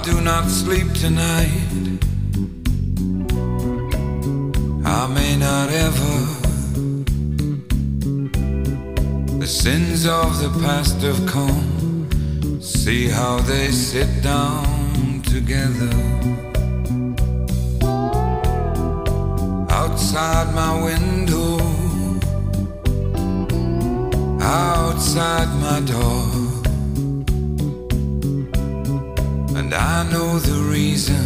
do not sleep tonight. I may not ever. The sins of the past have come. See how they sit down together. Outside my window, outside my door. And I know the reason,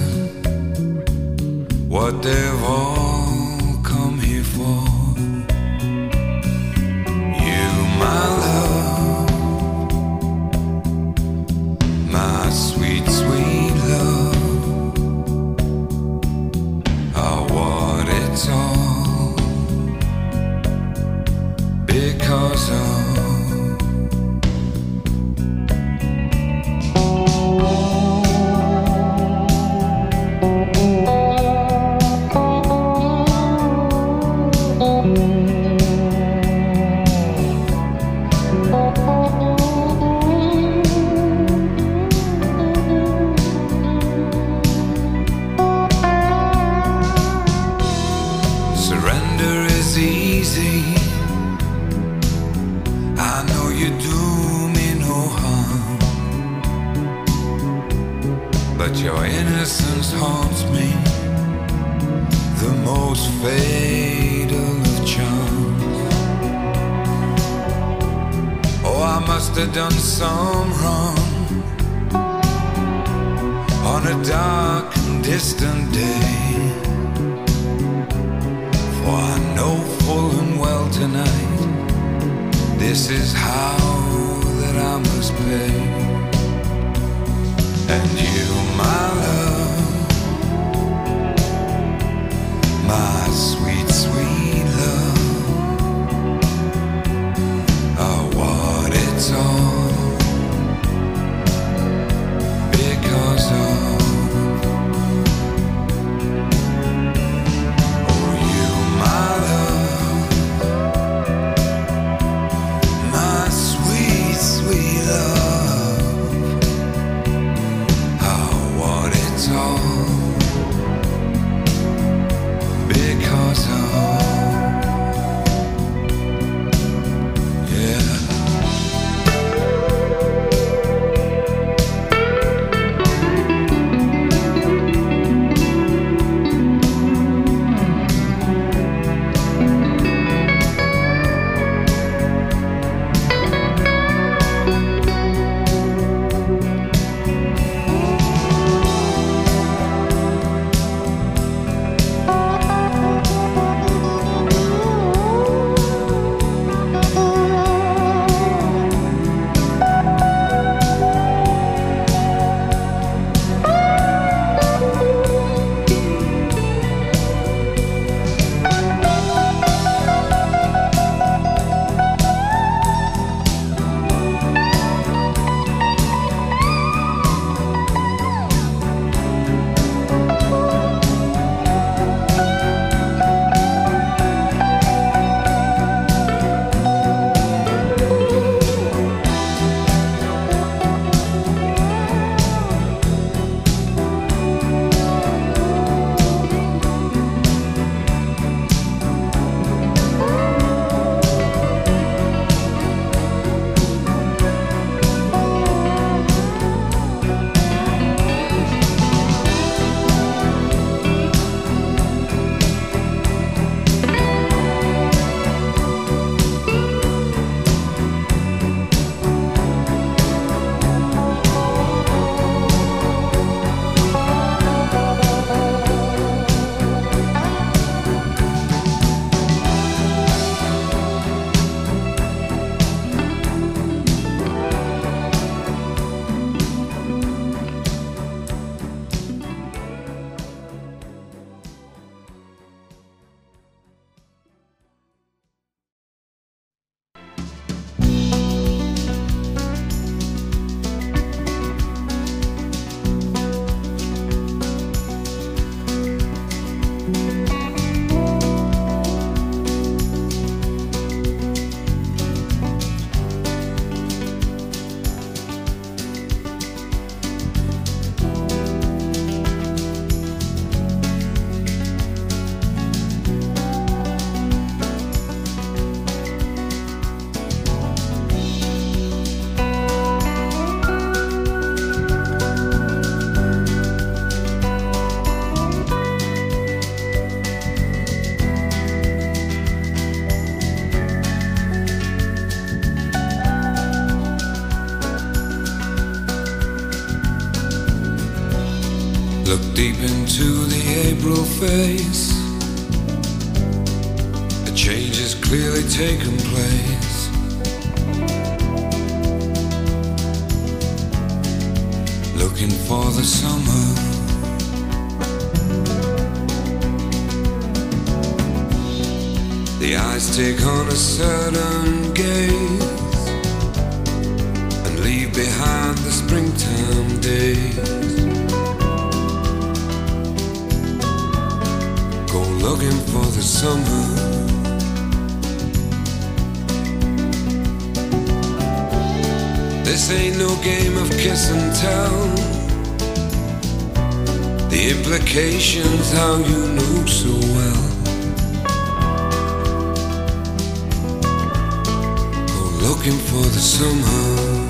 what they've all come here for. You, my love, my sweet, sweet love, are what it's all because of. But your innocence haunts me, the most fatal of charms. Oh, I must have done some wrong on a dark and distant day, for I know full and well tonight, this is how that I must pay. And you, my love, my sweet, sweet love, are what it's all because of. Oh, you, my love, my sweet, sweet love, all because of. deep into the April face. A change has clearly taken place. Looking for the summer. The eyes take on a certain gaze and leave behind the springtime days. Go looking for the summer. This ain't no game of kiss and tell. The implications how you know so well. Go looking for the summer.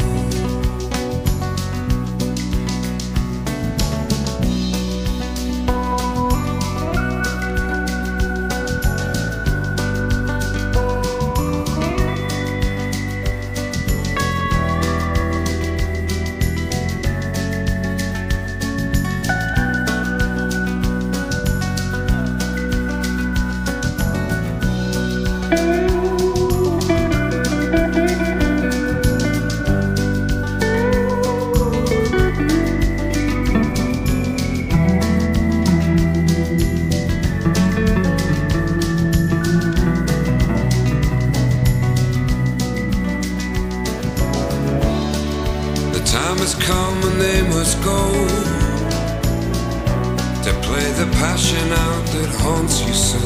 Time has come and they must go to play the passion out that haunts you so.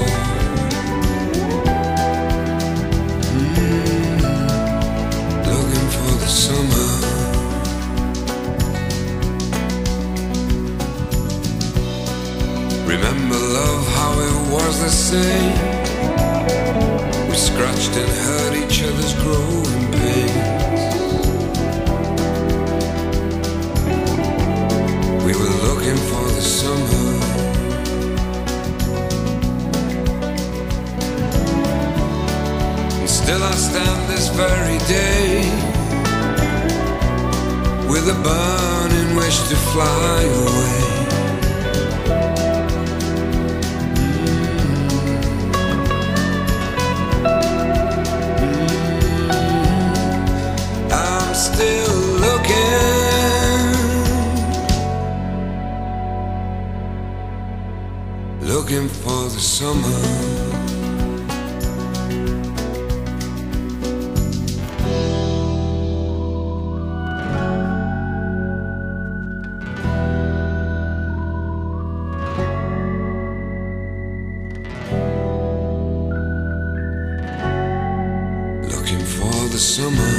Looking for the summer. Remember love, how it was the same. We scratched and hurt each other's growing pains. We were looking for the summer. And still I stand this very day with a burning wish to fly away. I'm still looking for the summer. Looking for the summer.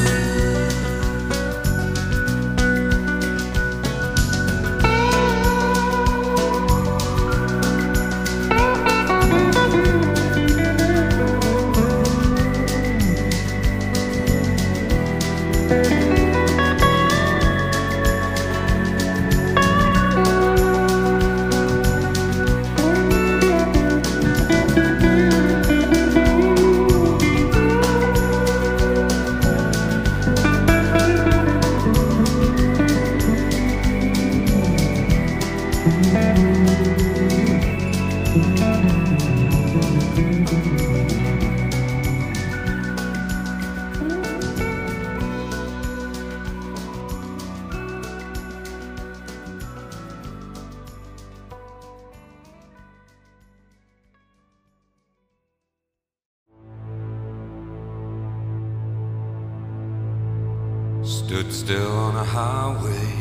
Stood still on a highway,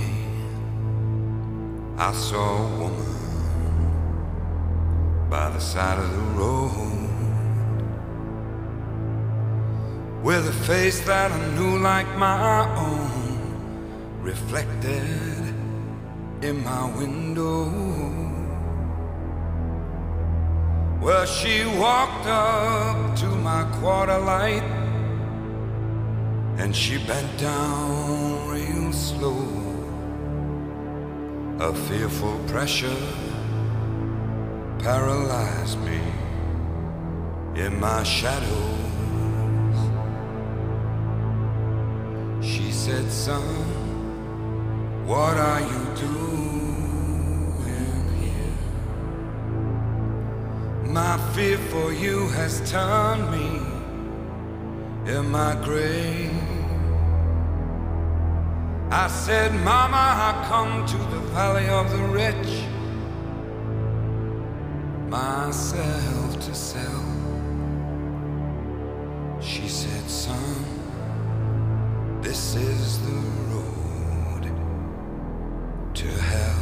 I saw a woman by the side of the road, with a face that I knew like my own, reflected in my window. Well, she walked up to my quarter light, and she bent down real slow. A fearful pressure paralyzed me in my shadows. She said, "Son, what are you doing here?" My fear for you has turned me in my grave. I said, Mama, I come to the valley of the rich, myself to sell. She said, son, this is the road to hell.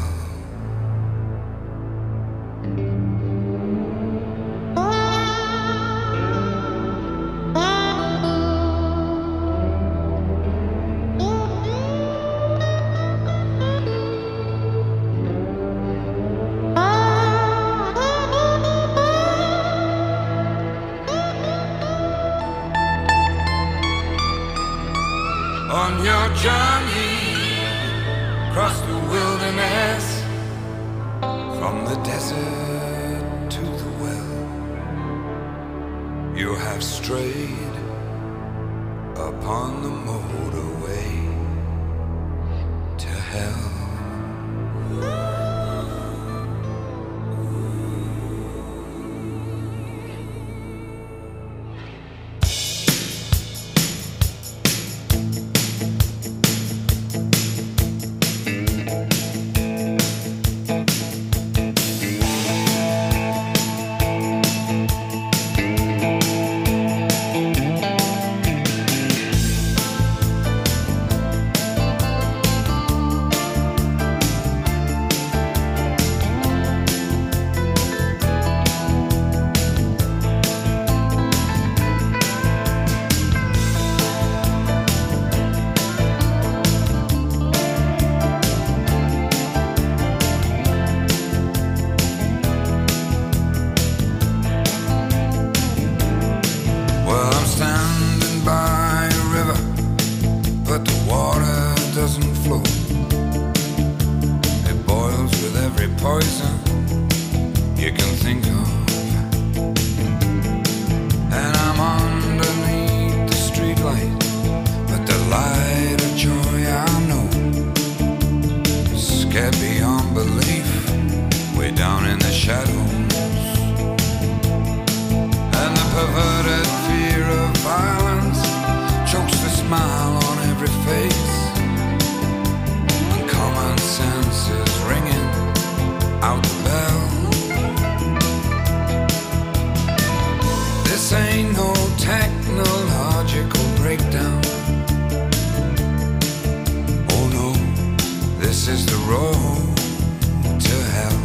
On your journey across the wilderness, from the desert to the well, you have strayed upon the motorway to hell. Poison you can think of, and I'm underneath the streetlight, but the light of joy I know is scared beyond belief, way down in the shadows, and the perverted fear of violence chokes the smile on every face, and common sense is ringing out the bell. This ain't no technological breakdown. Oh no, this is the road to hell.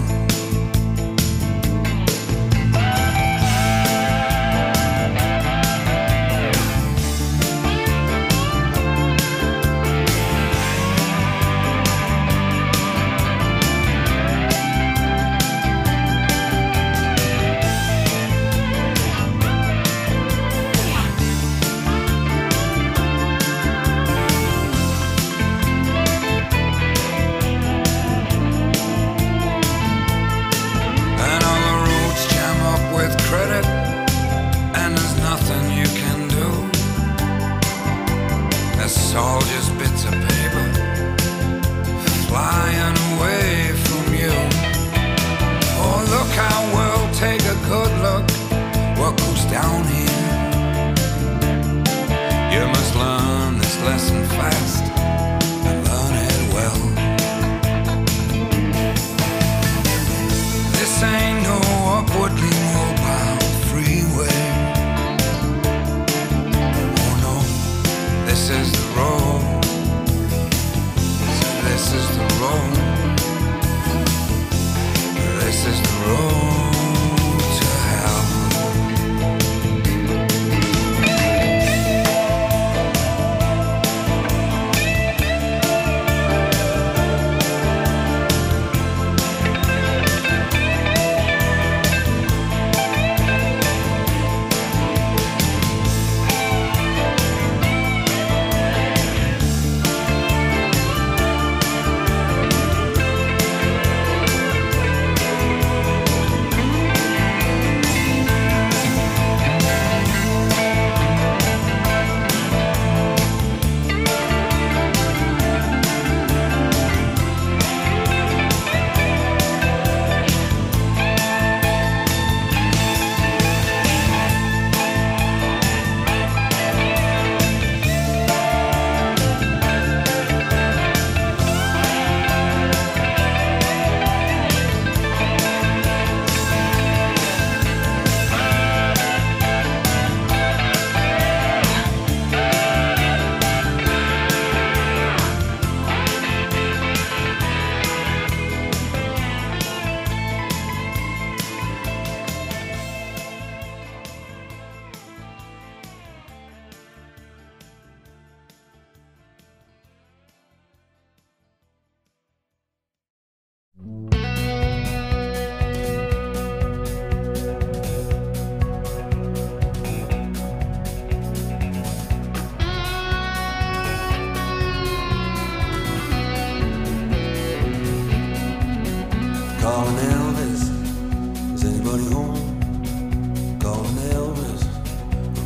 It's all just bits of paper flying away from you. Oh, look how we'll take a good look what goes down here. You must learn this lesson fast and learn it well. This ain't no upwardly mobile freeway. This is the road, so this is the road, this is the road to hell.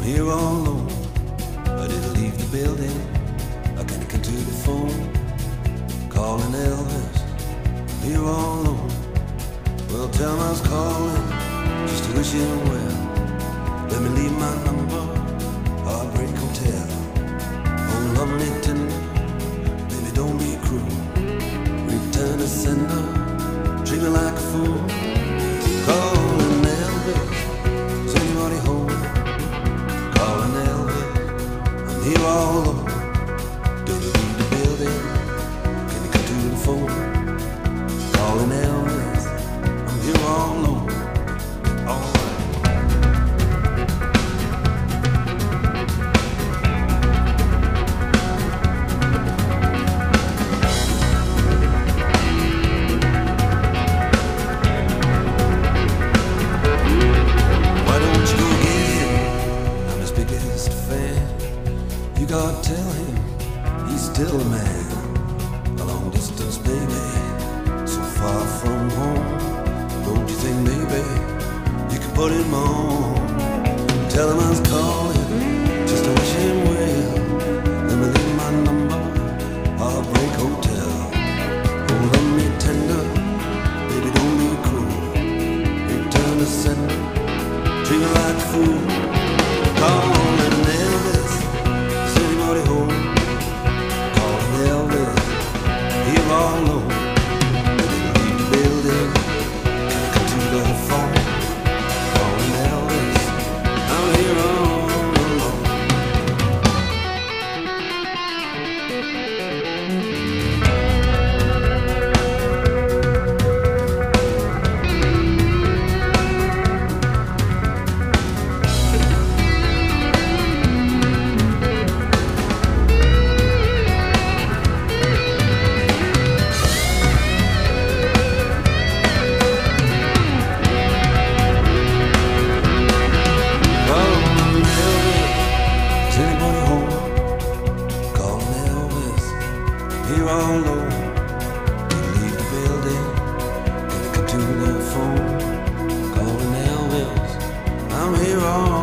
here all alone. I didn't leave the building. I can't come to the phone. Calling Elvis. I'm here all alone. Well, tell him I was calling just to wish him well. Let me leave my number. Heartbreak Hotel. Oh, lovely tender. Baby, don't be cruel. Return to sender. Treat me like a fool. Calling Elvis. Is anybody home? Calling Elvis. I'm here all alone. Don't you leave the building? Can you come to the phone? Calling Elvis. I'm here all alone. All right. Why don't you go get him? I'm his biggest fan. You gotta tell him he's still a man. A long distance, baby, so far from home. Don't you think maybe you could put him on? Tell him I was calling just to wish him well. Let me leave my number, Heartbreak Hotel. Oh, love me tender, baby, don't be cruel. Return to sender, treat me like a fool. Calling Elvis, is anybody home? Calling Elvis, here all alone. Leave the building, come to the phone. Calling Elvis, I'm here all alone. Calling Elvis, is anybody home? Calling Elvis, here all alone. You leave the building, gonna come to the phone. Calling Elvis, I'm here all alone.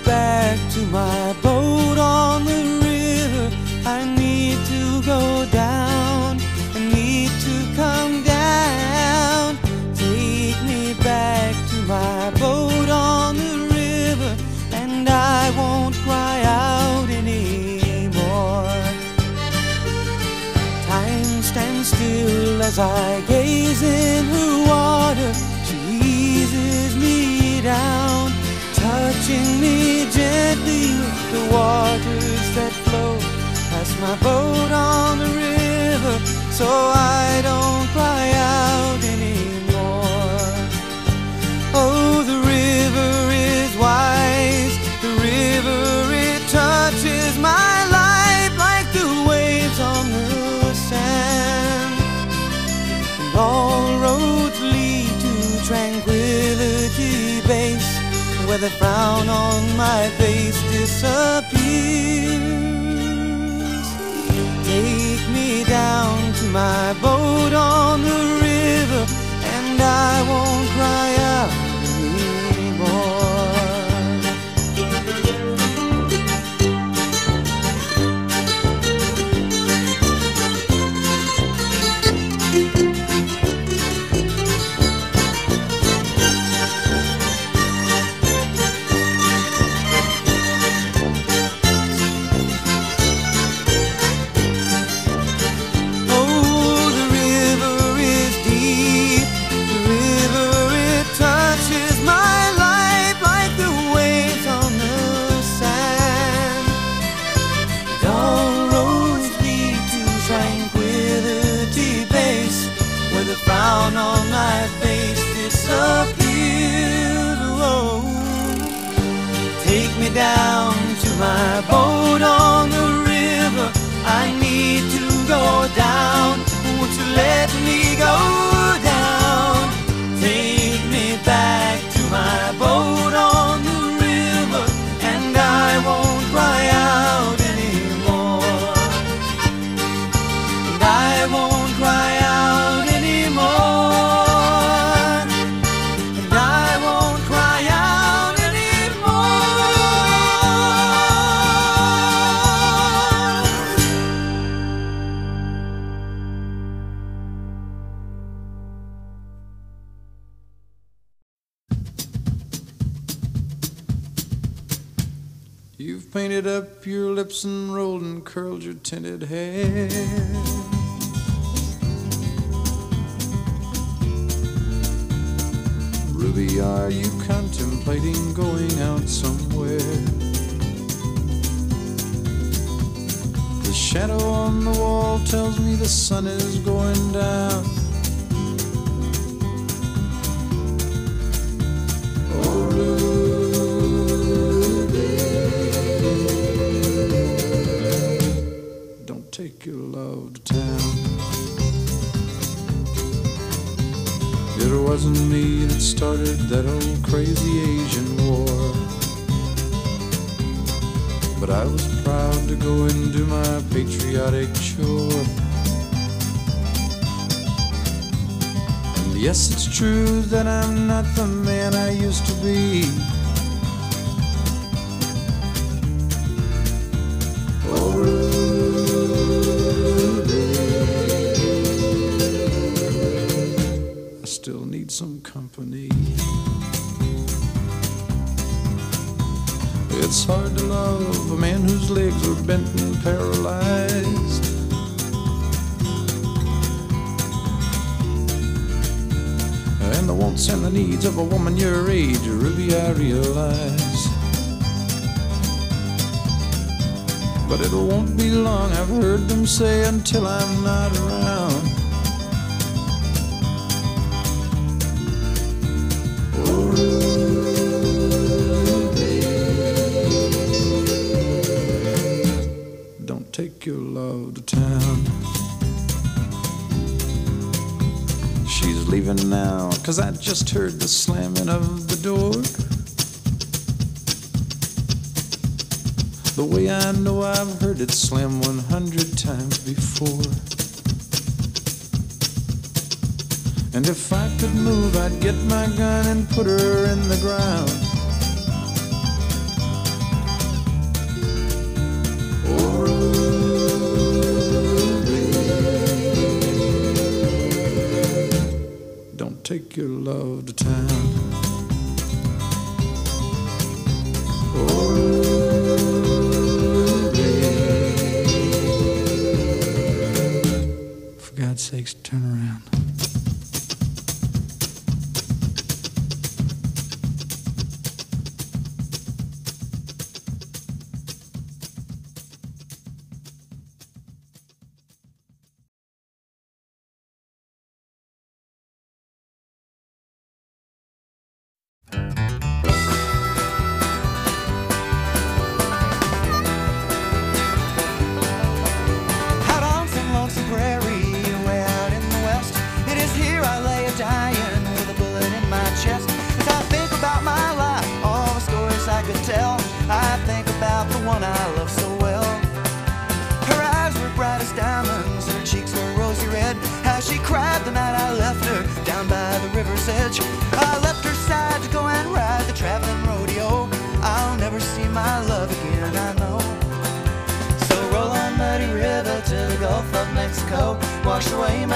back to my boat on the river. I need to go down, I need to come down. Take me back to my boat on the river, and I won't cry out anymore. Time stands still as I gaze in her water. She eases me down, touching me gently with the waters that flow past my boat on the river, so I don't cry out anymore. Oh, the river is wise, the river, it touches my life like the waves on the sand. And all roads lead to Tranquility Base, where the frown on my face disappears. Take me down to my boat on the river, and I won't cry out anymore. Frown on my face disappears. Oh, take me down to my boat on the river. I need to go down. Won't you let me go down? Take me back to my boat on the river, and I won't cry out anymore. And I won't cry out. You've painted up your lips and rolled and curled your tinted hair. Ruby, are you contemplating going out somewhere? The shadow on the wall tells me the sun is going down. Oh, Ruby, take your love to town. It wasn't me that started that old crazy Asian war, but I was proud to go and do my patriotic chore. And yes, it's true that I'm not the man I used to be. Oh, still need some company. It's hard to love a man whose legs are bent and paralyzed. And the wants and the needs of a woman your age, Ruby, I realize. But it won't be long, I've heard them say, until I'm not around. Take your love to town. She's leaving now, 'cause I just heard the slamming of the door. The way I know I've heard it slam 100 times before. And if I could move, I'd get my gun and put her in the ground.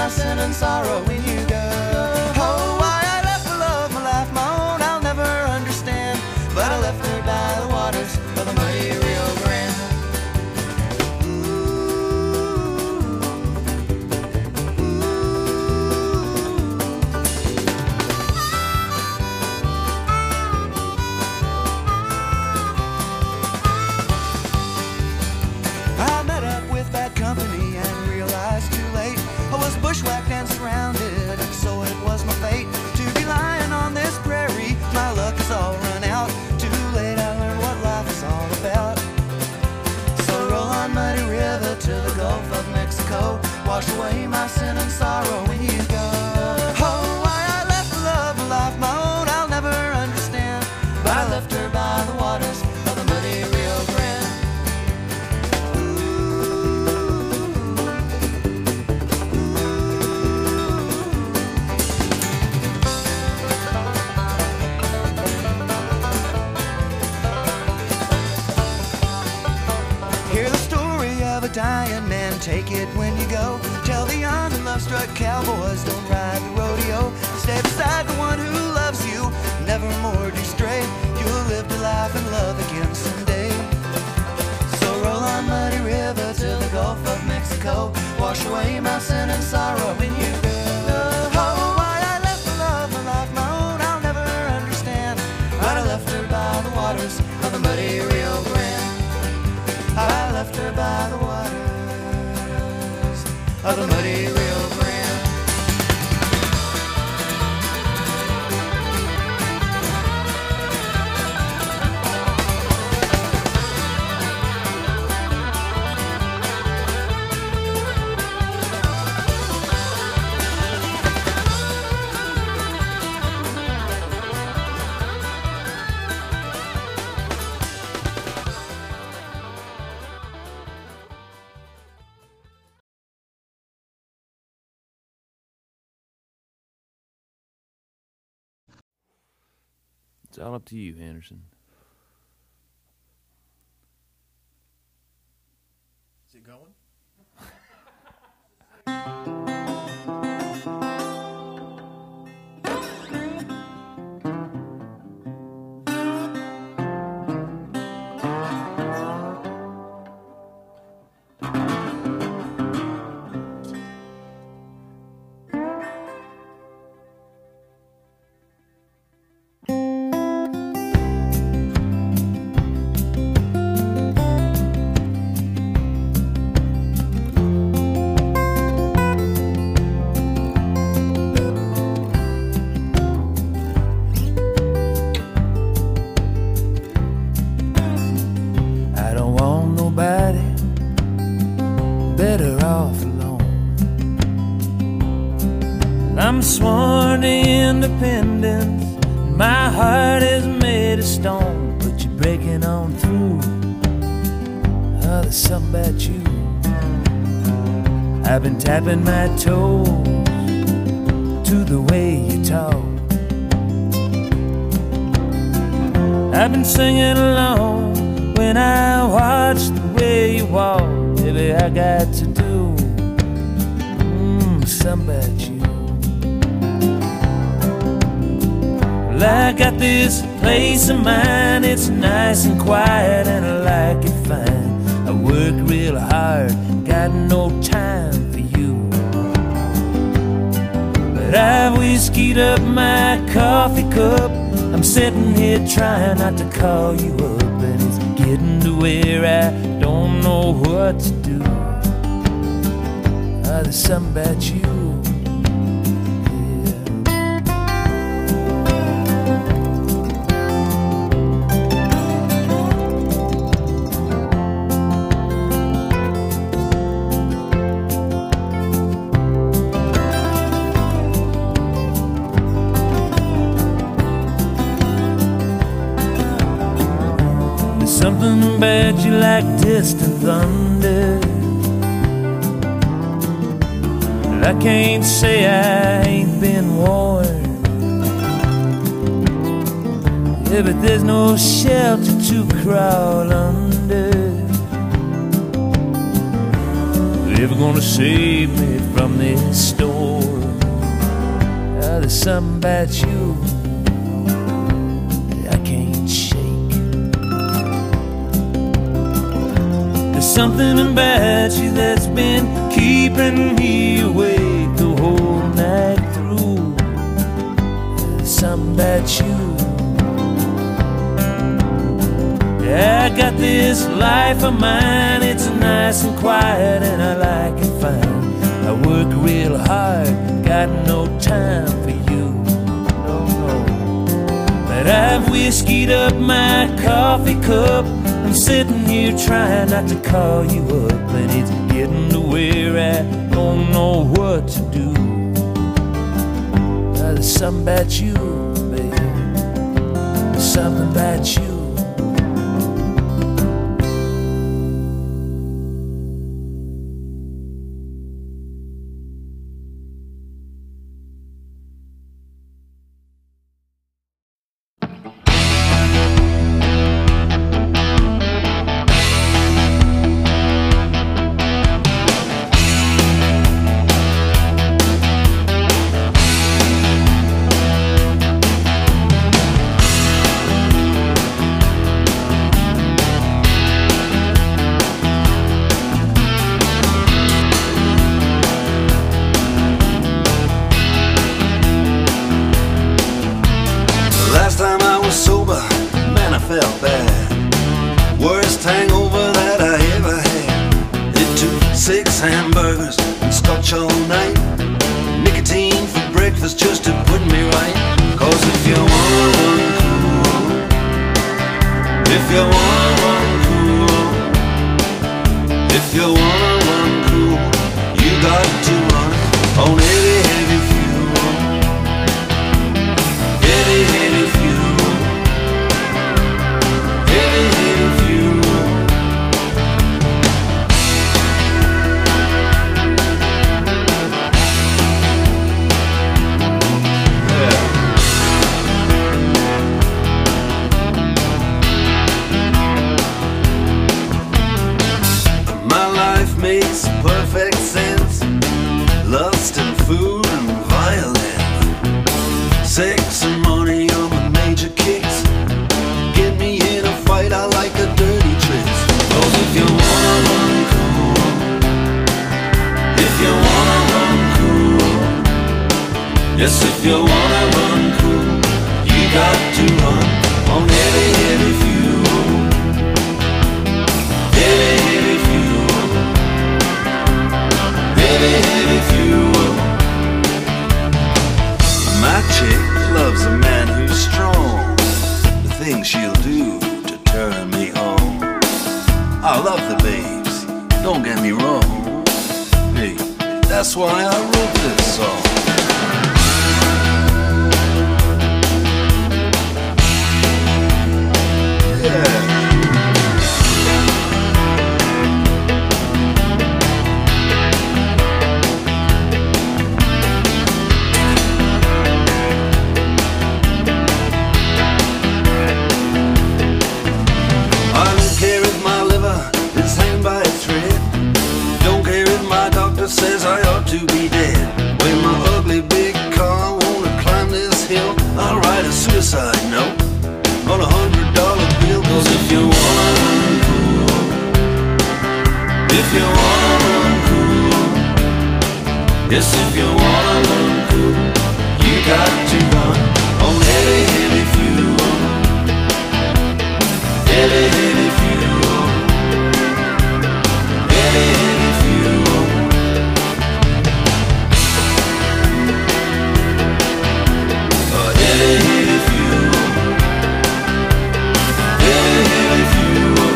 my sin and sorrow when you go. Oh, why I left my love, my life, my own, I'll never understand. But I left her by the waters of the muddy Rio Grande. I met up with bad company and realized too late I was bushwhacked and surrounded, and so it was my fate to be lying on this prairie. My luck is all run out. Too late I learned what life is all about. So roll on, muddy river, to the Gulf of Mexico. Wash away my sin and sorrow when you go. Oh, why I left the love, my life, my own, I'll never understand. But I left her by the waters of the muddy Rio Grande. Hear the story of a dying man, take it when you go. Tell the young and love-struck cowboys, don't ride the rodeo. Stay beside the one who loves you, never more do stray. You'll live to life and love again someday. So roll on, muddy river, to the Gulf of Mexico. Wash away my sin and sorrow when you go. Oh, why I left the love, my life, my own, I'll never understand. But I left her by the waters of the muddy Rio Grande. I left her by the waters of the muddy Rio Grande. It's all up to you, Anderson. Is it going? I'm sworn to independence, my heart is made of stone. But you're breaking on through. Oh, there's something about you. I've been tapping my toes to the way you talk. I've been singing along when I watch the way you walk. Baby, I got to do something about you. Well, I got this place of mine, it's nice and quiet and I like it fine. I work real hard, got no time for you. But I've whiskeyed up my coffee cup, I'm sitting here trying not to call you up, and it's getting to where I don't know what to do. Oh, there's something about you. Something about you like distant thunder. I can't say I ain't been warned. Yeah, but there's no shelter to crawl under. ever gonna save me from this storm. There's something about you that I can't shake. There's something about you that's been keeping me awake the whole night through. There's something about you. I got this life of mine, it's nice and quiet and I like it fine. I work real hard, got no time for you, no, no. But I've whiskeyed up my coffee cup, I'm sitting here trying not to call you up, and it's getting to where I don't know what to do. There's something about you, babe, there's something about you. Last time I was sober, man, I felt bad. Worst hangover that I ever had. It took 6 hamburgers and scotch all night, nicotine for breakfast just to put me right. Cause if you wanna run cool, if you wanna run cool, if you wanna run cool, you got to run on heavy, heavy fuel. Heavy, heavy fuel. Heavy, heavy fuel. Yeah. My life makes perfect sense. Lust and food and violence, sex and money are my major kicks. Get me in a fight, I like the dirty tricks. Cause if you wanna run cool, if you wanna run cool, yes, if you wanna run cool, you got to run on heavy, heavy fuel. Heavy, heavy fuel. Heavy, heavy fuel. My chick loves a man who's strong, the things she'll do to turn me on. I love the babes, don't get me wrong. Hey, that's why I wrote this song. Yeah. I don't care if my liver is hanging by a thread. Don't care if my doctor says I ought to be dead. When my ugly big car wanna climb this hill, I'll write a suicide note on $100 bill. Cause if you wanna run cool, if you wanna run cool, yes, if you wanna run cool, you got to run on heavy, heavy fuel. Heavy, heavy fuel. Heavy, heavy fuel. Heavy, heavy fuel. Heavy, heavy fuel.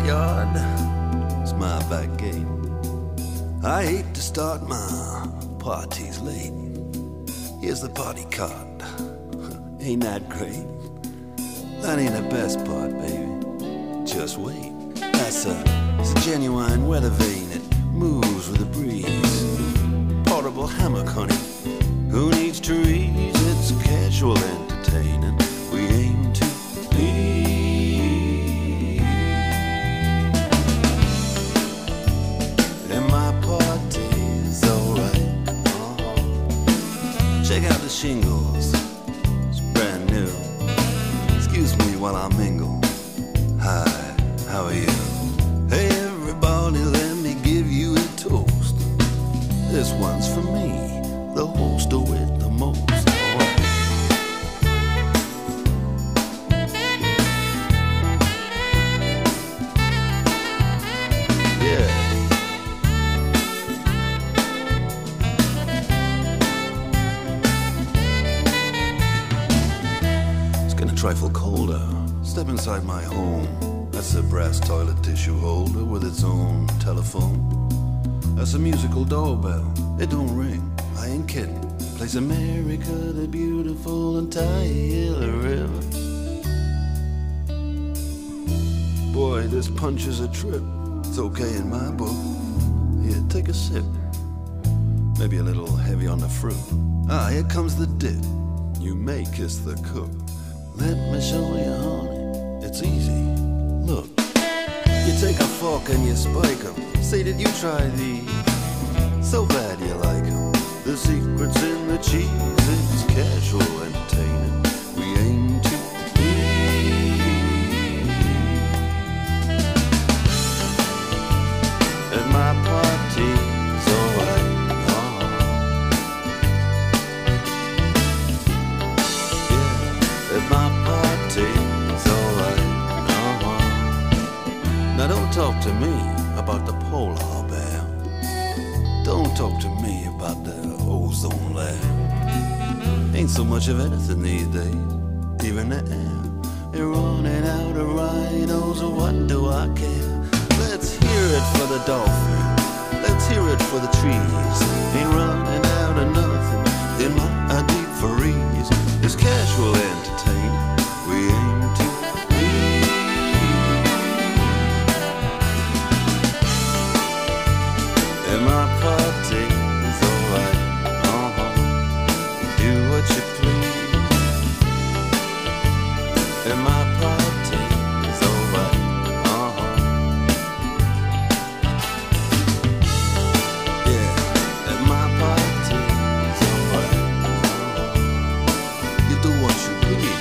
backyard is my back gate. I hate to start my parties late. Here's the party card. Ain't that great? That ain't the best part, baby. Just wait. It's a genuine weather vane. It moves with the breeze. Portable hammock, honey. Who needs trees? It's casual entertaining. We aim to please. And my party's alright. Check out the shingles. It's brand new. Excuse me while I mingle. Hi, how are you? Hey everybody, let me give you a toast. This one's for me, the host with the most. Yeah. It's getting a trifle colder. Step inside my home. That's a brass toilet tissue holder with its own telephone. That's a musical doorbell. It don't ring. I ain't kidding. Plays America the Beautiful and Tyler River. Boy, this punch is a trip. It's okay in my book. Here, take a sip. Maybe a little heavy on the fruit. Ah, here comes the dip. You may kiss the cook. Let me show you, honey. It's easy. Look. You take a fork and you spike 'em. Say, did you try these? So bad you like 'em. The secret's in the cheese. It's casual entertaining. We aim to please. And my party's alright. Yeah, and my party's alright. Now don't talk to me about the polar bear. Don't talk to me about the ozone layer. Ain't so much of anything these days, even the air. They're running out of rhinos, what do I care? Let's hear it for the dolphin, let's hear it for the trees. Ain't running out of nothing in my deep freeze. It's casual entertaining, we aim to my party is alright, do what you please. And my party is alright, yeah. And my party is alright, you do what you please.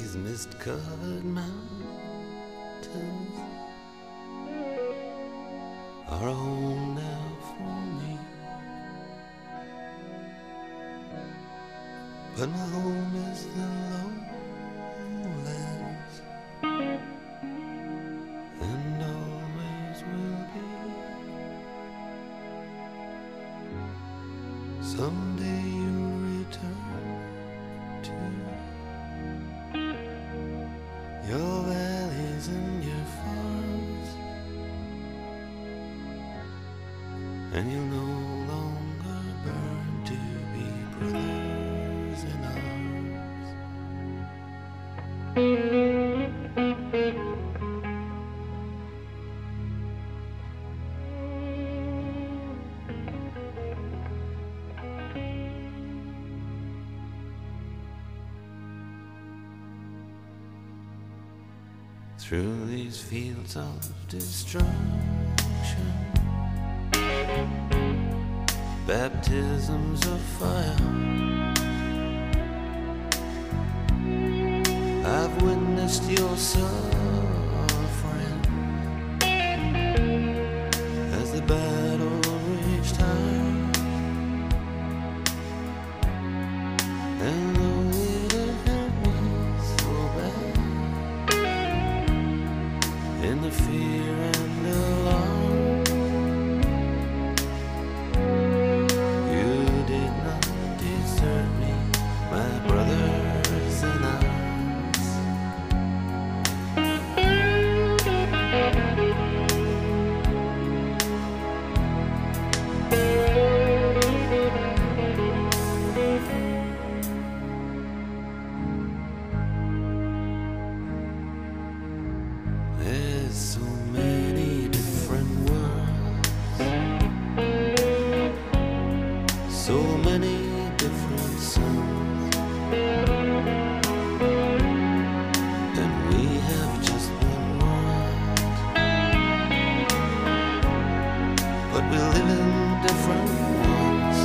these mist-covered mountains are home now for me. But my home is the lowlands, and always will be. Someday you'll return to your valleys and your farms, and you'll no longer burn to be brothers in arms. Through these fields of destruction, baptisms of fire, I've witnessed your suffering as the battle reached high. And though it hurt me so bad, in the fear and alarm, you did not desert me, my brothers in arms. There's so many different worlds, so many different suns, and we have just one world, but we live in different ones.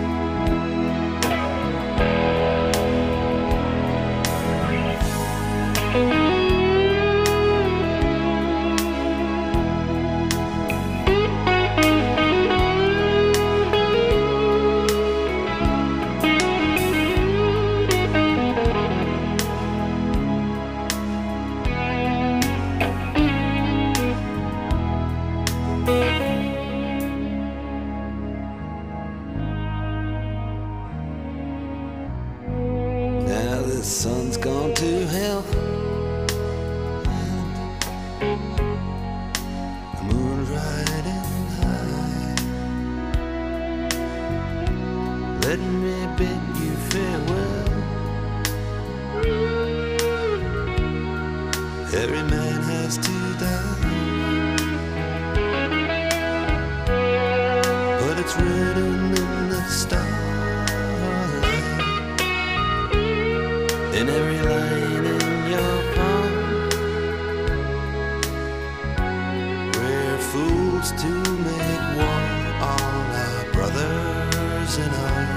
Now the sun's gone to hell, and the moon's riding high. Let me bid you farewell. Every man has to die, but it's written in the starlight, in every line in your palm. We're fools to make war on our brothers in arms.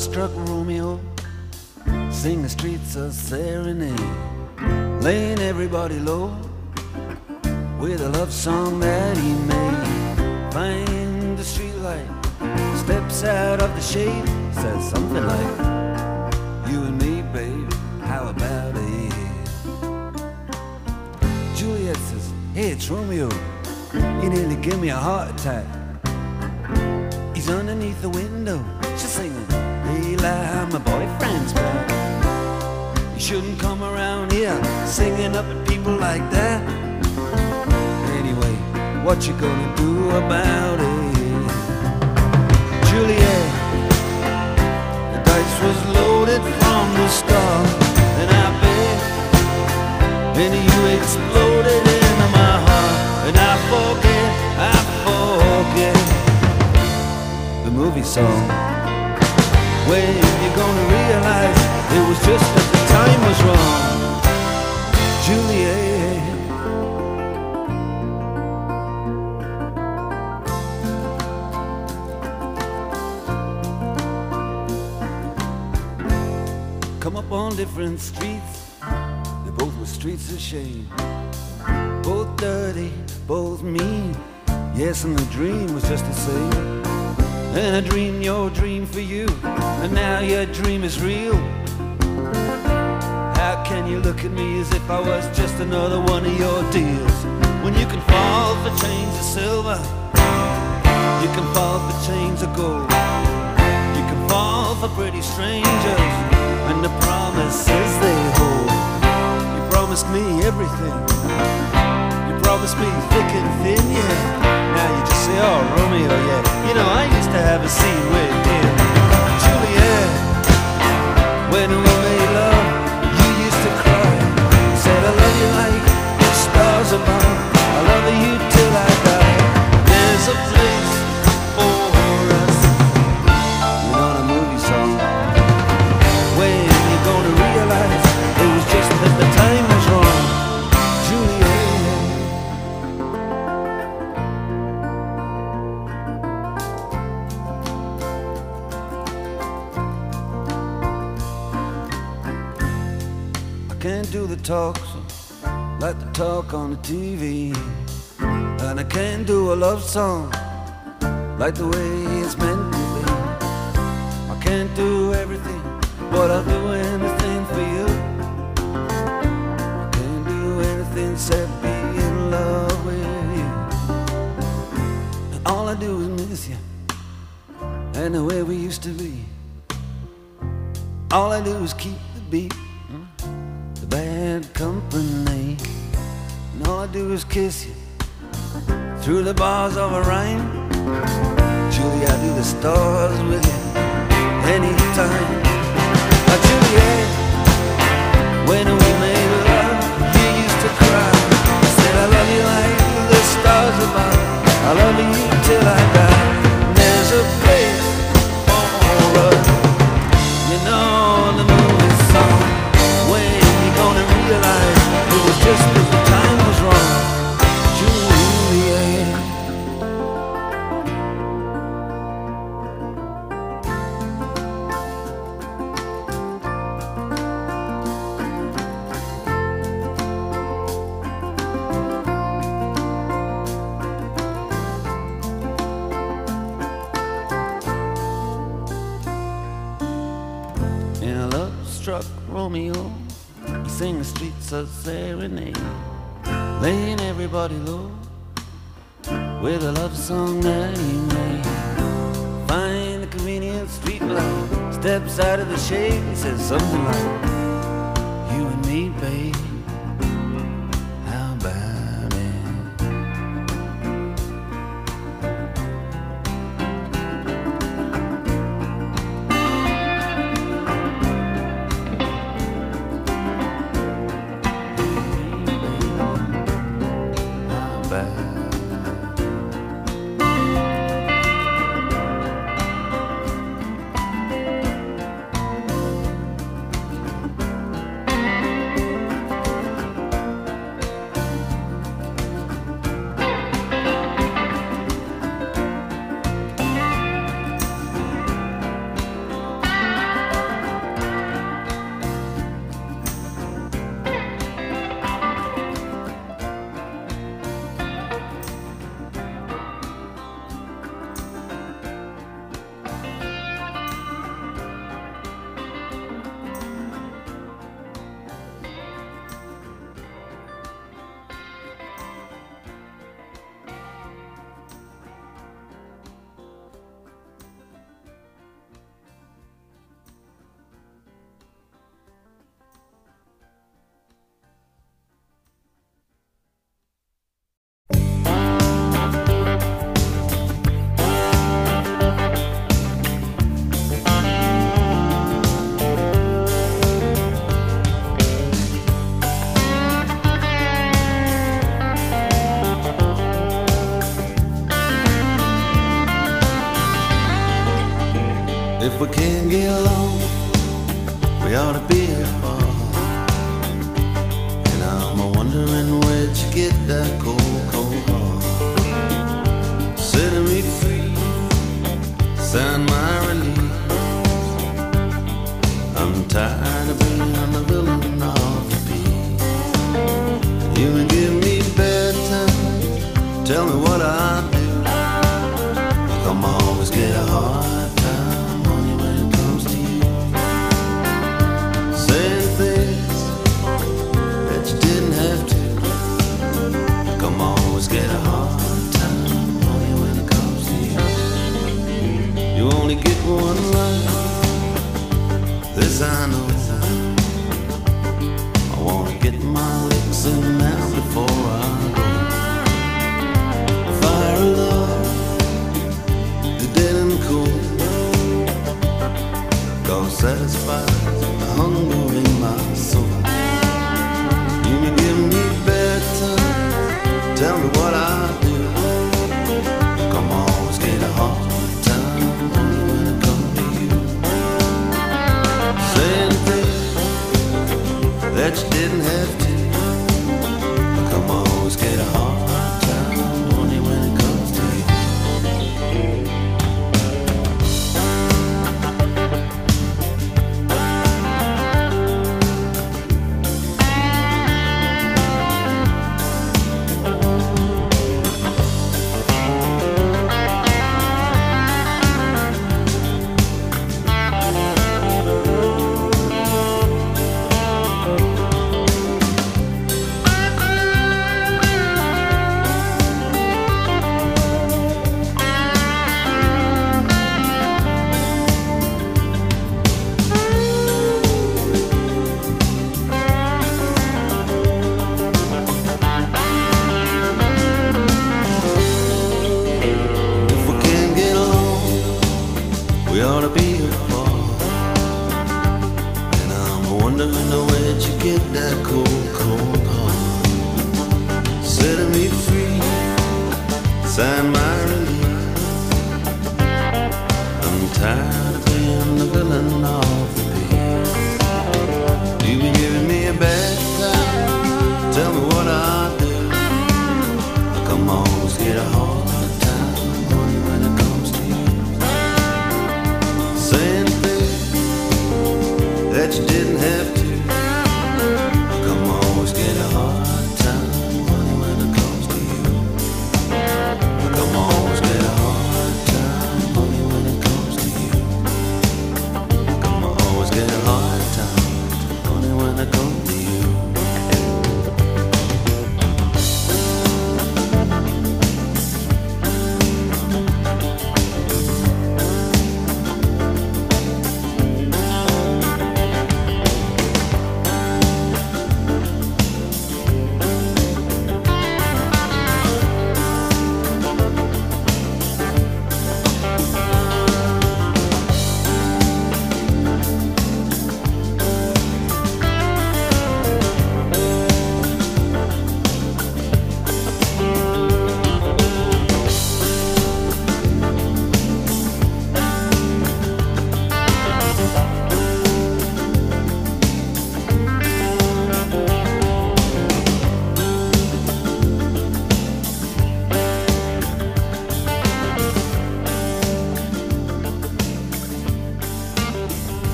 love-struck Romeo, sing the streets a serenade, laying everybody low with a love song that he made. Find the streetlight, steps out of the shade, says something like, you and me, babe, how about it? Juliet says, hey, it's Romeo, he nearly gave me a heart attack. He's underneath the window, she's singing, hey, lie, my boyfriend's back. You shouldn't come around here singing up at people like that. Anyway, what you gonna do about it? Juliet, the dice was loaded from the start, and I bet then you exploded into my heart, and I forget the movie song. When you're gonna realize it was just that the time was wrong, Juliet. Come up on different streets, they both were streets of shame, both dirty, both mean. Yes, and the dream was just the same. And I dreamed your dream for you, and now your dream is real. How can you look at me as if I was just another one of your deals? When you can fall for chains of silver, you can fall for chains of gold, you can fall for pretty strangers and the promises they hold. You promised me everything, you promised me thick and thin, yeah. Now you just say, oh, Romeo, yeah. You know, I used to have a scene with him. Juliet, when we made love, you used to cry. You said, I love you like the stars above, I love you till I die. There's a place for us. You know the movie song. When you're gonna realize it was just that the time was wrong, Juliet. Can't do the talks like the talk on the TV, and I can't do a love song like the way it's meant to be. I can't do everything, but I'll do anything for you. I can't do anything except be in love with you. And all I do is miss you and the way we used to be. All I do is keep the beat, bad company, and all I do is kiss you through the bars of a rhyme. Julie, I do the stars with you anytime. Juliet, when we made love, you used to cry. You said, I love you like the stars above, I love you till I die. And there's a place for us, you know the movie song. When gonna realize it was just that the time was wrong, Juliet. In a love-struck Romeo, sing the streets a serenade, laying everybody low with a love song that he made. Find the convenient street light, steps out of the shade, he says something like, you and me, babe, how about it? we can't get along, we ought to be apart. And I'm wondering where'd you get that cold, cold heart. Setting me free, sign my release. I'm tired of being the villain of the piece. You can give me bedtime, tell me what I do. Come always get a hard time, honey, when it comes to you. Saying things that you didn't have to. Come always get a hard time, honey, when it comes to you. You only get one life, this I know. I wanna get my licks in now before I go. Fire of love, dead and cool, gonna satisfy the hunger in my soul. You can give me bedtime, tell me what I do. Come always get a hard time, honey, when it comes to you. Saying things that you didn't have to. Come always get a hard time, honey, when it comes to you. We ought to be apart. And I'm wondering where'd you get that cold, cold heart. Setting me free, sign my release. I'm tired of being the villain of the piece. You've been giving me a bad time, tell me what I do. Come always get a hard time, honey, when it comes to you. Saying things that you didn't have to. Come always get a hard time, honey, when it comes to you. Come always get a hard time, honey, when it comes to you. Come always get a hard time, honey, when it comes to you.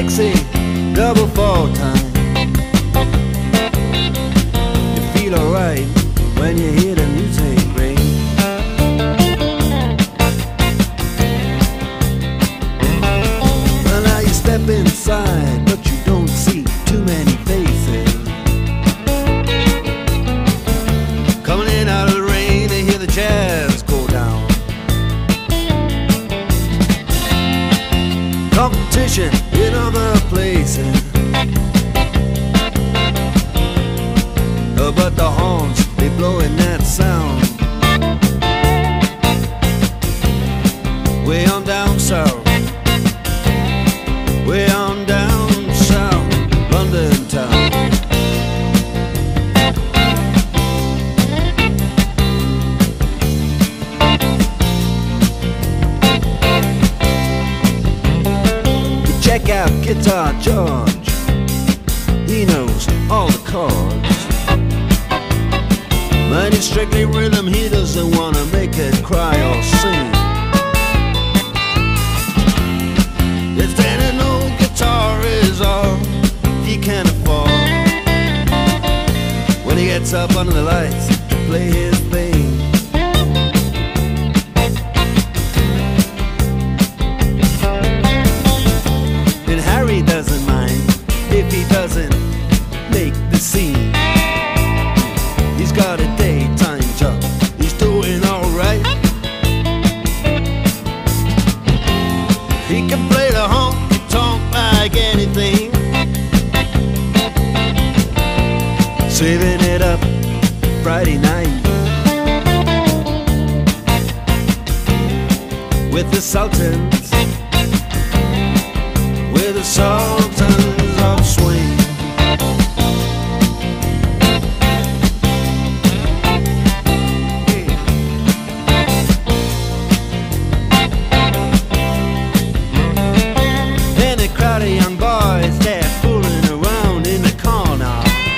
Dixie, double fall time. You feel alright when you hear the music ring. Well, now you step inside, but you don't see too many faces. Coming in out of the rain, they hear the jazz go down. Competition in other places, but the horns, they blowing that sound. Way on down south, way on down south, London town. You check out Guitar George, he knows all the chords. But it's strictly rhythm, he doesn't wanna make it cry or sing. If then an old guitar is all he can afford, when he gets up under the lights to play his thing. And Harry doesn't mind if he doesn't make the scene. He's got a daytime job, he's doing alright. He can play the honky-tonk like anything, saving it up Friday night with the Sultans, with the Sultans of Swing. Crowd of young boys, they're fooling around in the corner,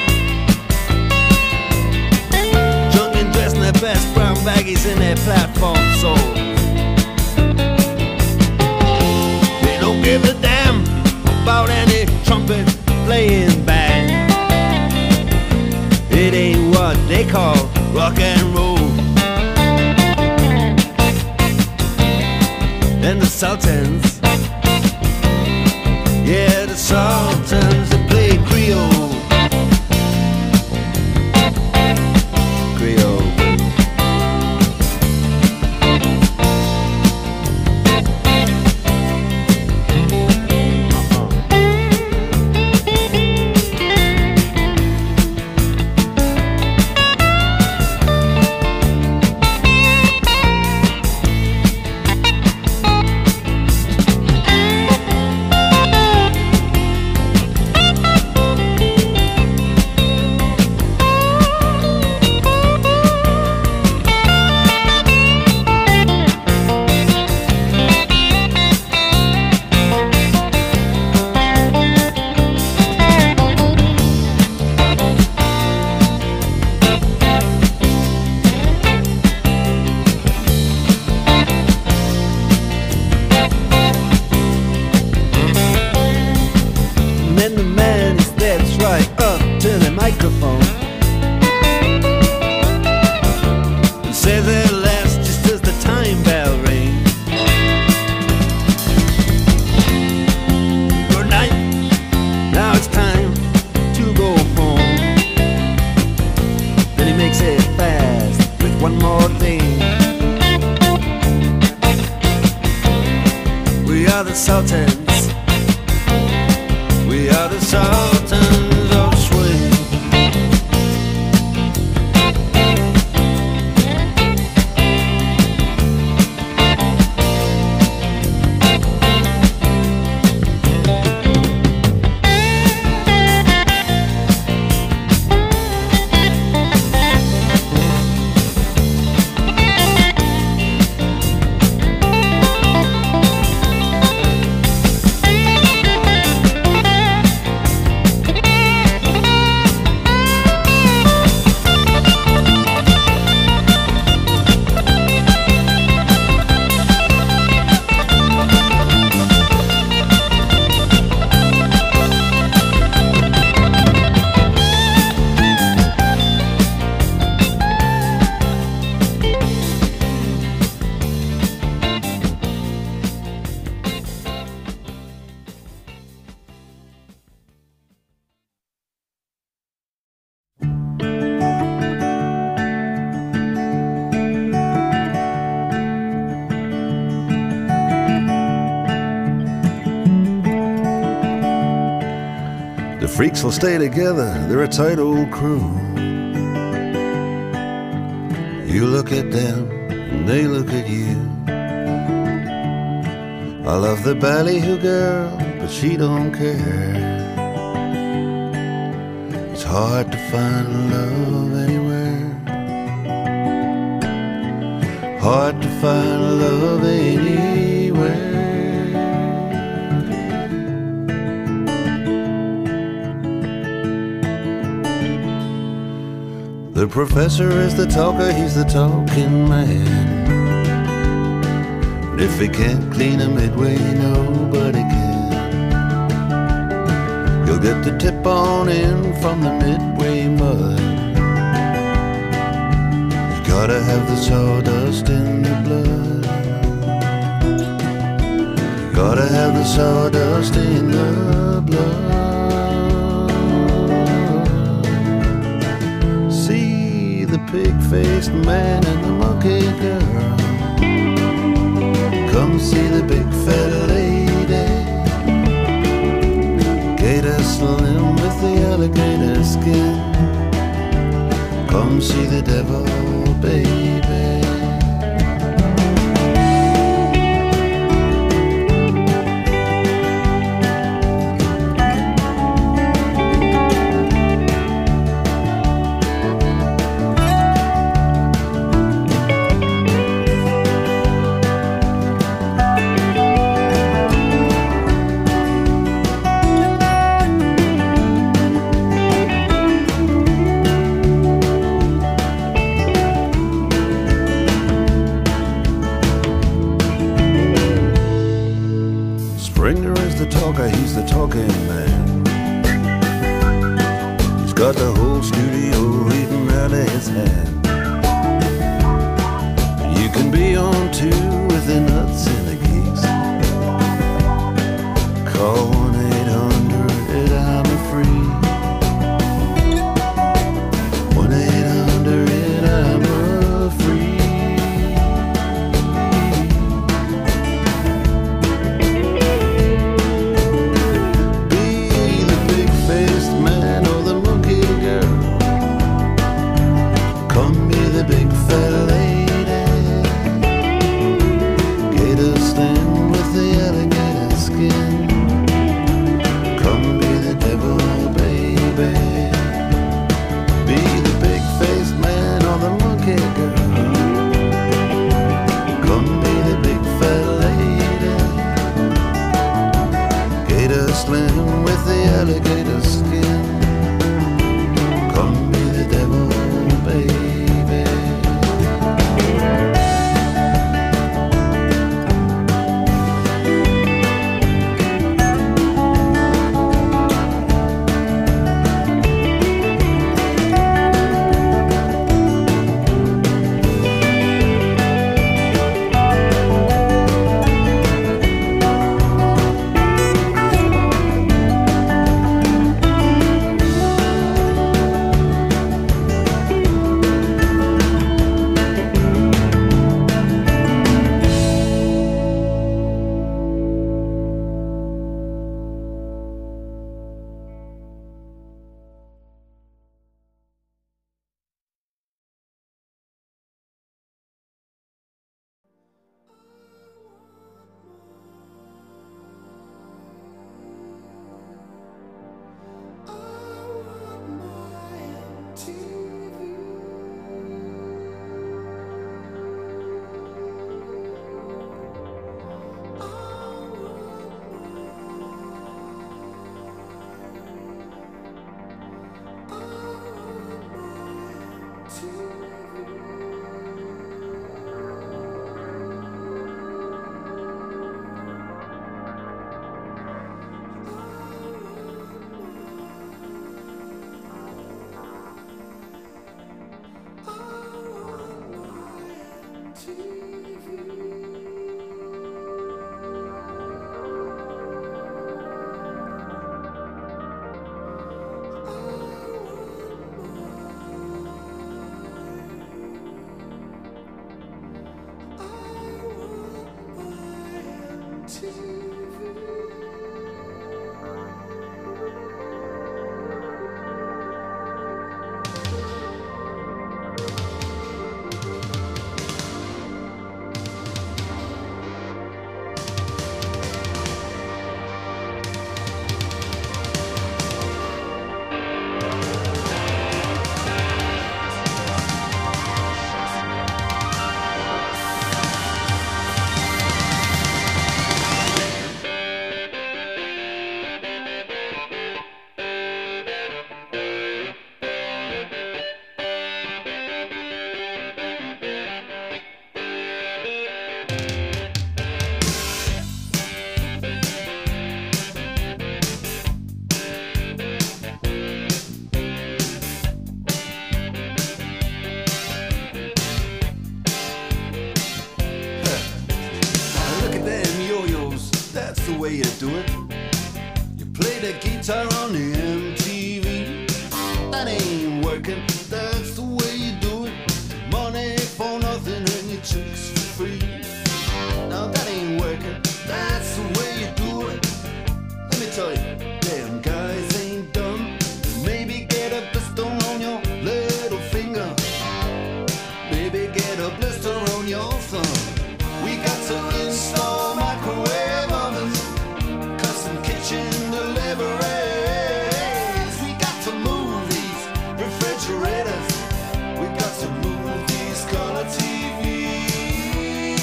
drunk and dressed in their best brown baggies in their platform soles. They don't give a damn about any trumpet playing band. It ain't what they call rock and roll. And the Sultans, yeah, the Sultans, they play Creole. Creole. And then the man steps right up to the microphone and says at last, just as the time bell rings, good night, now it's time to go home. Then he makes it fast with one more thing. We are the Sultans, we are the Sultans of Swing. freaks will stay together, they're a tight old crew. You look at them and they look at you. I love the ballyhoo girl, but she don't care. It's hard to find love anywhere. Hard to find love anywhere. The professor is the talker, he's the talking man. And if he can't clean a midway, nobody can. You'll get the tip on in from the midway mud. You gotta have the sawdust in the blood. You gotta have the sawdust in the blood. The pig-faced man and the monkey girl. Come see the big fat lady, gator slim with the alligator skin. Come see the devil, baby. Springer is the talker, he's the talking man. He's got the whole studio reading out of his hand. You can be on two with the nuts and the geeks. Call 1-800 I'm free. 1-800 I'm free. Big fat lady, gator slim with the alligator skin. Come be the devil, baby. Be the big-faced man or the monkey girl. Come be the big fat lady, gator slim with the alligator skin. Come be the devil, baby. working, that's the way you do it. Money for nothing and your chicks for free. Now that ain't working, that's the way you do it. Let me tell you, damn guys ain't dumb. Maybe get a blister on your little finger. Maybe get a blister on your thumb. We got to install microwave ovens, custom kitchen deliveries. We got to move these refrigerators. We got to move these color TVs.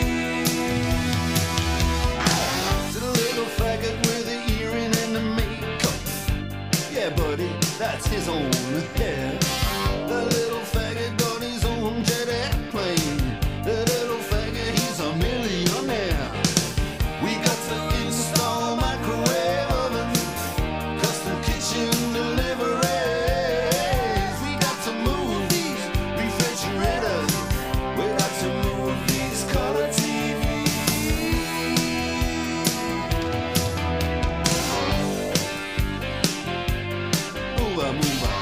To the little faggot with the earring and the makeup. Yeah, buddy, that's his own hair. The little faggot got his own jet airplane. The little faggot, he's a millionaire. We got to install microwave ovens, custom kitchen deliveries. We got to move these refrigerators. We got to move these color TVs. Move on, move on.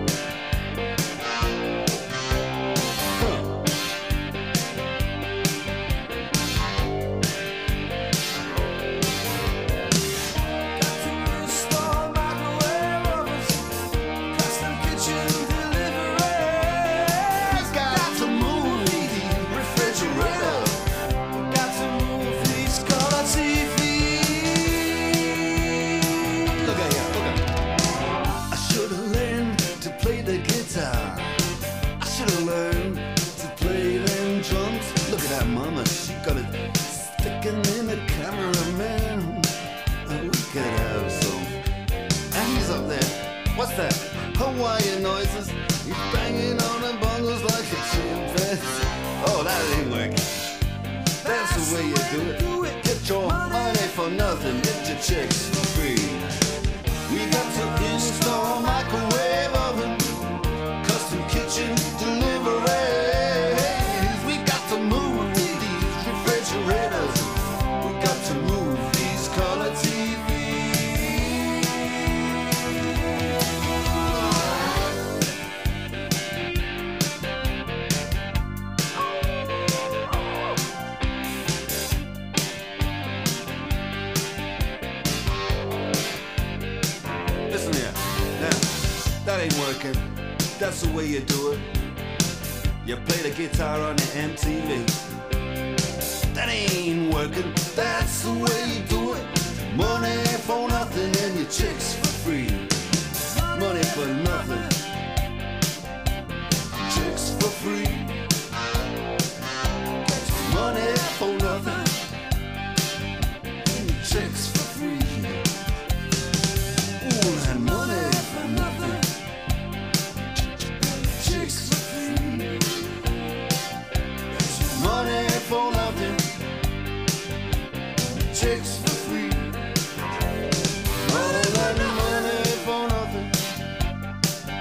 Mama, she got it sticking in the cameraman. Oh, we could have some. And he's up there. What's that? Hawaiian noises. He's banging on the bongos like a chimpanzee. Oh, that ain't working. That's the way you do it. Get your money for nothing. Get your chicks for free. We got to install microwave oven, custom kitchen delivery. We got to move these refrigerators. We got to move these color TVs. Listen here, now, that ain't working. That's the way you do it. You play the guitar on the MTV. That ain't working. That's the way you do it. Money for nothing and your chicks for free. Money for nothing. Chicks for free. Money for nothing. And your chicks for free. Ooh, and money for nothing. Chicks for free. Money for nothing. Chicks for free. Money for nothing.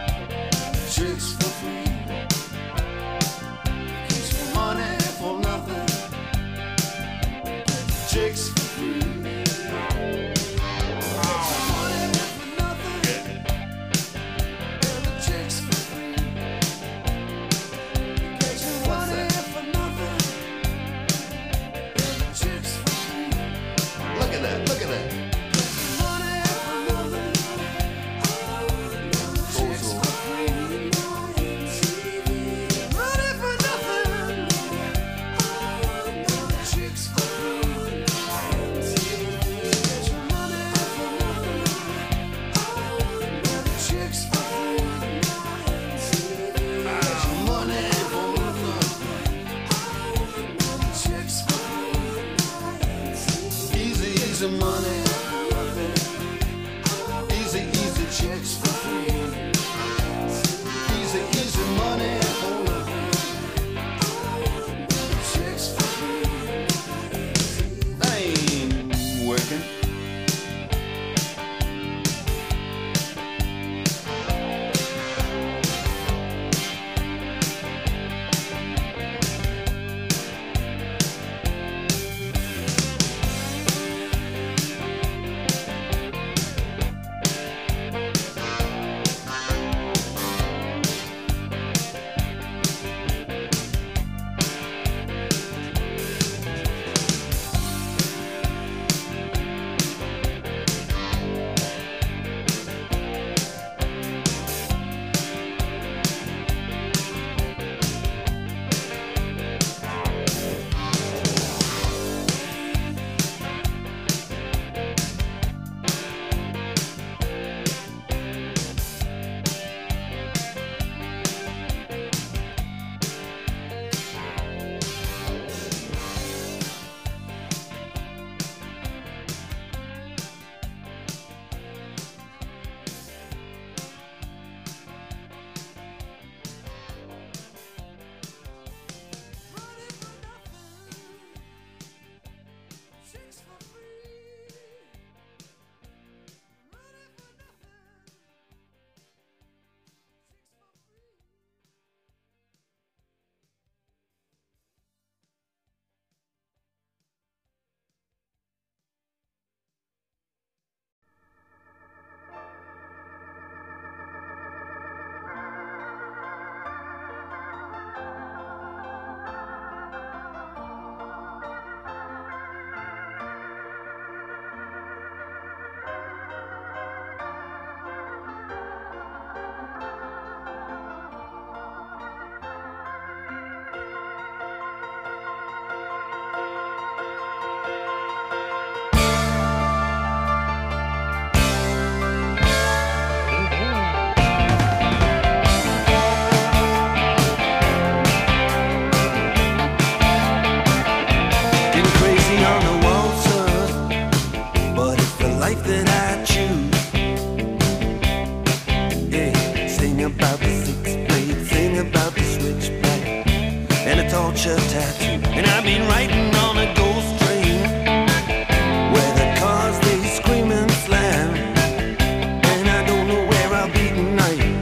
adventure tattoo. And I've been riding on a ghost train where the cars they scream and slam, and I don't know where I'll be tonight,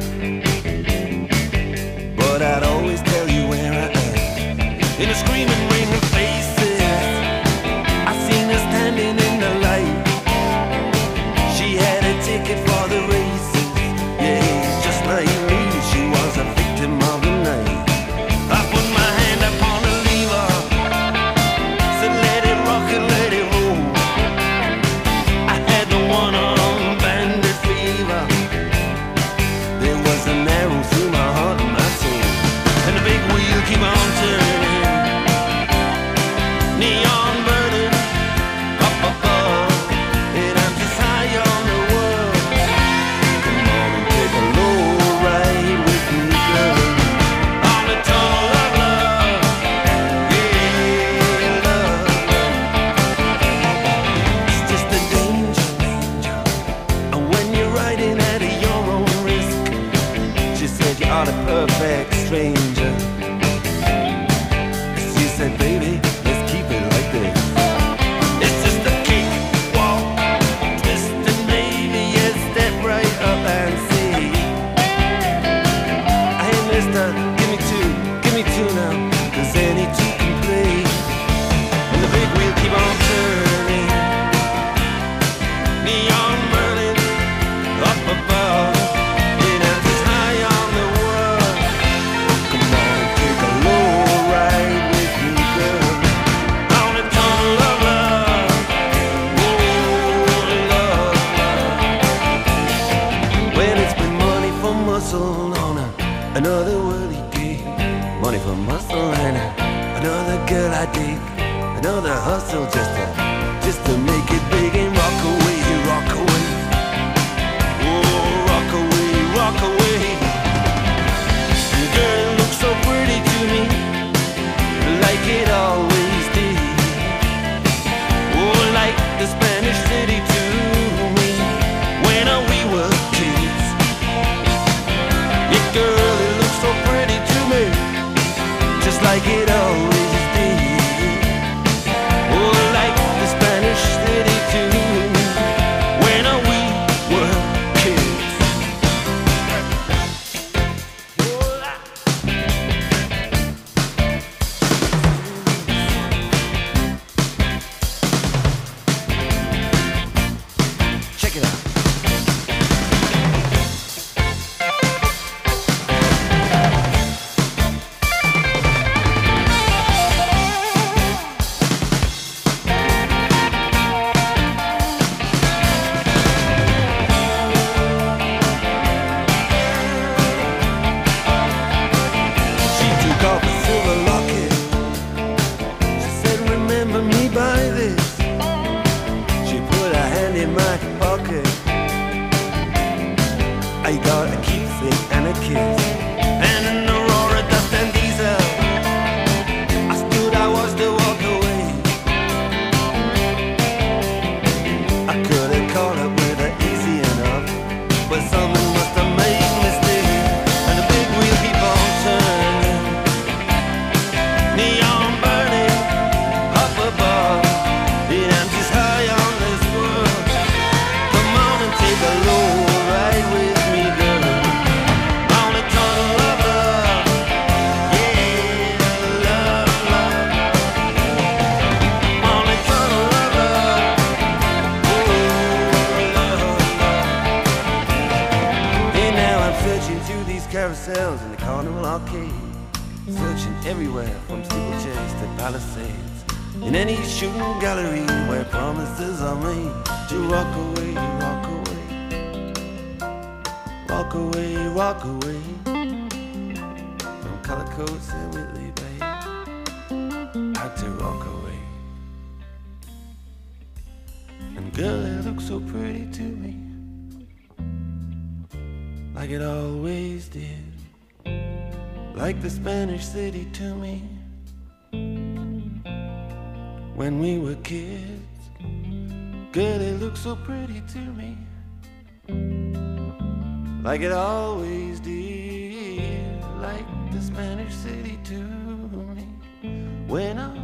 but I'd always tell you where I am. In a screaming ring of faces, I seen her standing in the light. She had a ticket for the races, yeah, just like me, she was a victim of the night. I put my hand upon the lever, said let it rock and let it roll. I had the one-armed bandit fever. There was an arrow through my heart and my soul, and the big wheel keep on turning, neon burning up above, and I'm just high on the world. Come on and take a low ride with me, girl, on the tunnel of love, yeah, love. It's just a danger, and when you're riding at your own risk, she said you are the perfect stranger. She said, baby, let's keep it like this. It's just a kick, walk, twist, and maybe a step right up and see. Hey, mister, give me two now, 'cause any two can play. And the big wheel keep on turning, neon burning up above, and I'm just high on the world. Come on and take a low ride with me, girl, on the tunnel of love, oh, love. When it's been money for muscle on another worldly gig, money for muscle and another girl I dig, another hustle just to make it big and rock away, rock away, oh, rock away, rock away. Girl, it looks so pretty to me, like it always did, oh, like the Spanish city to me when we were kids. Yeah, girl, it looks so pretty to me, just like it always did, oh, like the Spanish city to me when we were kids. Check it out. She took off a silver locket. She said, remember me by this. She put her hand in my pocket. I got a keepsake and a kiss, and an Aurora dust and diesel. I stood, I watched her walk away. I could have caught up with her easy enough, but someone must have made a mistake, and the big wheel keep on turning, neon burning up above, and I'm just high on this world. Come on and take a low ride with me, girl, on the tunnel of love, yeah, love, love, on the tunnel of love, oh, love, love. And now I'm searching through these carousels in the Carnival Arcade, searching everywhere from steeplechase to Palisades, in any shooting gallery where promises are made to rock away, rock away, rock away, rock away, from Color Coats and Whitley Bay, out to rock away. And girl, it looks so pretty to me, like it always did, like the Spanish city to me when we were kids. Girl, it looks so pretty to me, like it always did, like the Spanish city to me when I